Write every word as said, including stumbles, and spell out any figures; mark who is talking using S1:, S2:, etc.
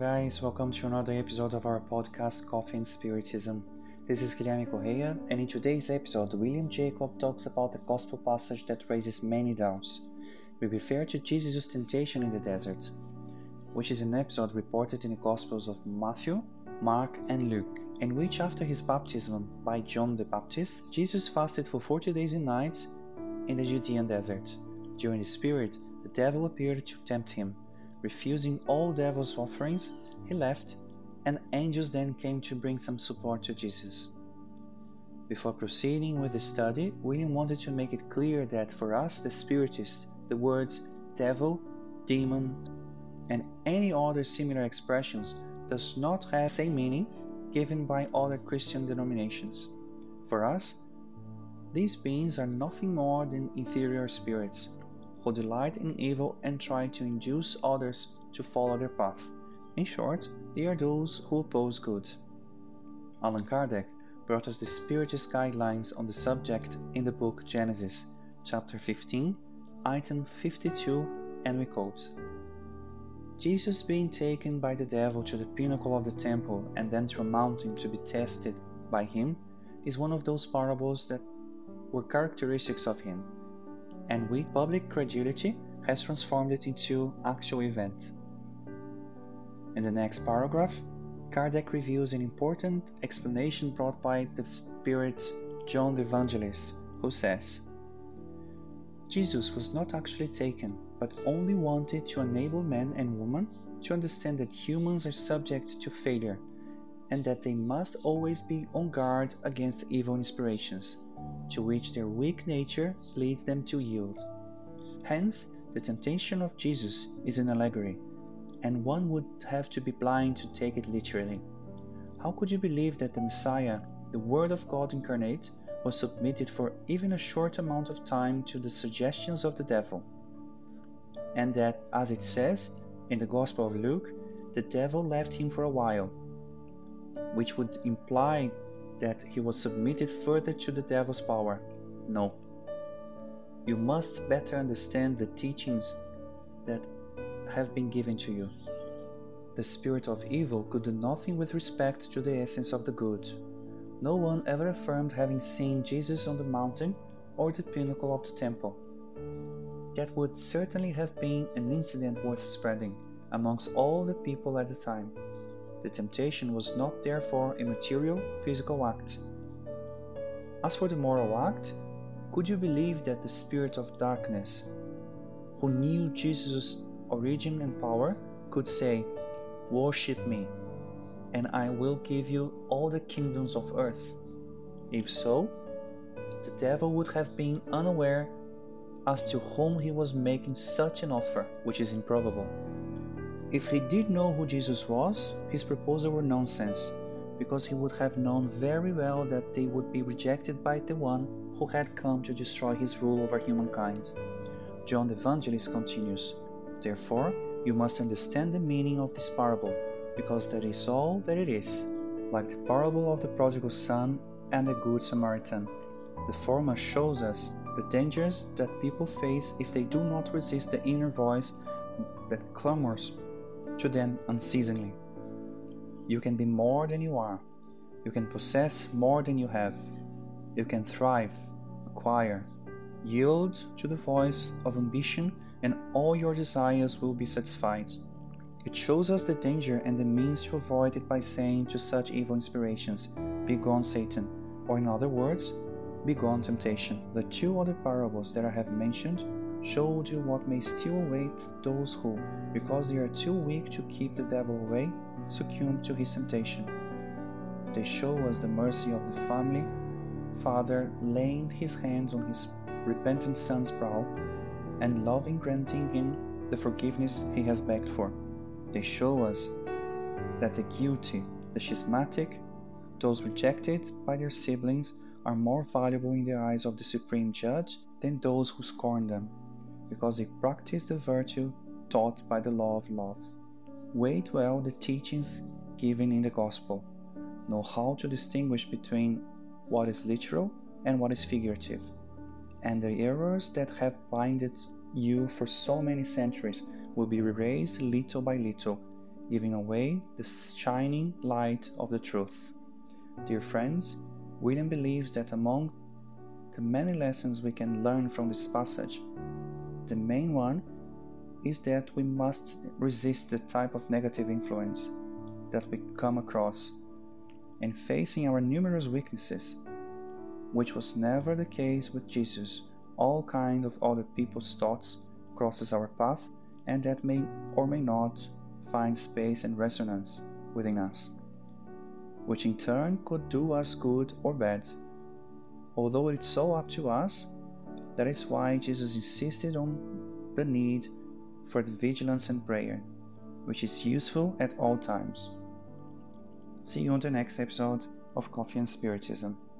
S1: guys, welcome to another episode of our podcast Coffee and Spiritism. This is Guilherme Correia, and in today's episode, William Jacob talks about the gospel passage that raises many doubts. We refer to Jesus' temptation in the desert, which is an episode reported in the Gospels of Matthew, Mark, and Luke, in which after his baptism by John the Baptist, Jesus fasted for forty days and nights in the Judean desert. During this period, the devil appeared to tempt him. Refusing all devil's offerings, he left, and angels then came to bring some support to Jesus. Before proceeding with the study, William wanted to make it clear that for us, the Spiritists, the words devil, demon, and any other similar expressions does not have the same meaning given by other Christian denominations. For us, these beings are nothing more than inferior spirits, who delight in evil and try to induce others to follow their path. In short, they are those who oppose good. Allan Kardec brought us the Spiritist guidelines on the subject in the book Genesis, chapter fifteen, item fifty-two, and we quote, Jesus being taken by the devil to the pinnacle of the temple and then to a mountain to be tested by him is one of those parables that were characteristics of him, and with public credulity has transformed it into actual event. In the next paragraph, Kardec reveals an important explanation brought by the spirit John the Evangelist, who says, Jesus was not actually taken, but only wanted to enable men and women to understand that humans are subject to failure, and that they must always be on guard against evil inspirations, to which their weak nature leads them to yield. Hence, the temptation of Jesus is an allegory, and one would have to be blind to take it literally. How could you believe that the Messiah, the Word of God incarnate, was submitted for even a short amount of time to the suggestions of the devil? And that, as it says in the Gospel of Luke, the devil left him for a while, which would imply that he was submitted further to the devil's power? No. You must better understand the teachings that have been given to you. The spirit of evil could do nothing with respect to the essence of the good. No one ever affirmed having seen Jesus on the mountain or the pinnacle of the temple. That would certainly have been an incident worth spreading amongst all the people at the time. The temptation was not therefore a material, physical act. As for the moral act, could you believe that the spirit of darkness, who knew Jesus' origin and power, could say, "Worship me, and I will give you all the kingdoms of earth"? If so, the devil would have been unaware as to whom he was making such an offer, which is improbable. If he did know who Jesus was, his proposal were nonsense, because he would have known very well that they would be rejected by the one who had come to destroy his rule over humankind. John the Evangelist continues, "Therefore, you must understand the meaning of this parable, because that is all that it is, like the parable of the prodigal son and the good Samaritan. The former shows us the dangers that people face if they do not resist the inner voice that clamors to them unceasingly. You can be more than you are. You can possess more than you have. You can thrive, acquire, yield to the voice of ambition, and all your desires will be satisfied. It shows us the danger and the means to avoid it by saying to such evil inspirations, 'Begone, Satan,' or in other words, 'Begone, temptation.' The two other parables that I have mentioned showed you what may still await those who, because they are too weak to keep the devil away, succumb to his temptation. They show us the mercy of the family father laying his hands on his repentant son's brow and loving granting him the forgiveness he has begged for. They show us that the guilty, the schismatic, those rejected by their siblings, are more valuable in the eyes of the Supreme Judge than those who scorn them, because they practice the virtue taught by the law of love. Weigh well the teachings given in the Gospel. Know how to distinguish between what is literal and what is figurative, and the errors that have blinded you for so many centuries will be erased little by little, giving away the shining light of the truth. Dear friends, William believes that among the many lessons we can learn from this passage, the main one is that we must resist the type of negative influence that we come across, and facing our numerous weaknesses, which was never the case with Jesus. All kinds of other people's thoughts crosses our path, and that may or may not find space and resonance within us, which in turn could do us good or bad. Although it's so up to us, that is why Jesus insisted on the need for the vigilance and prayer, which is useful at all times. See you on the next episode of Coffee and Spiritism.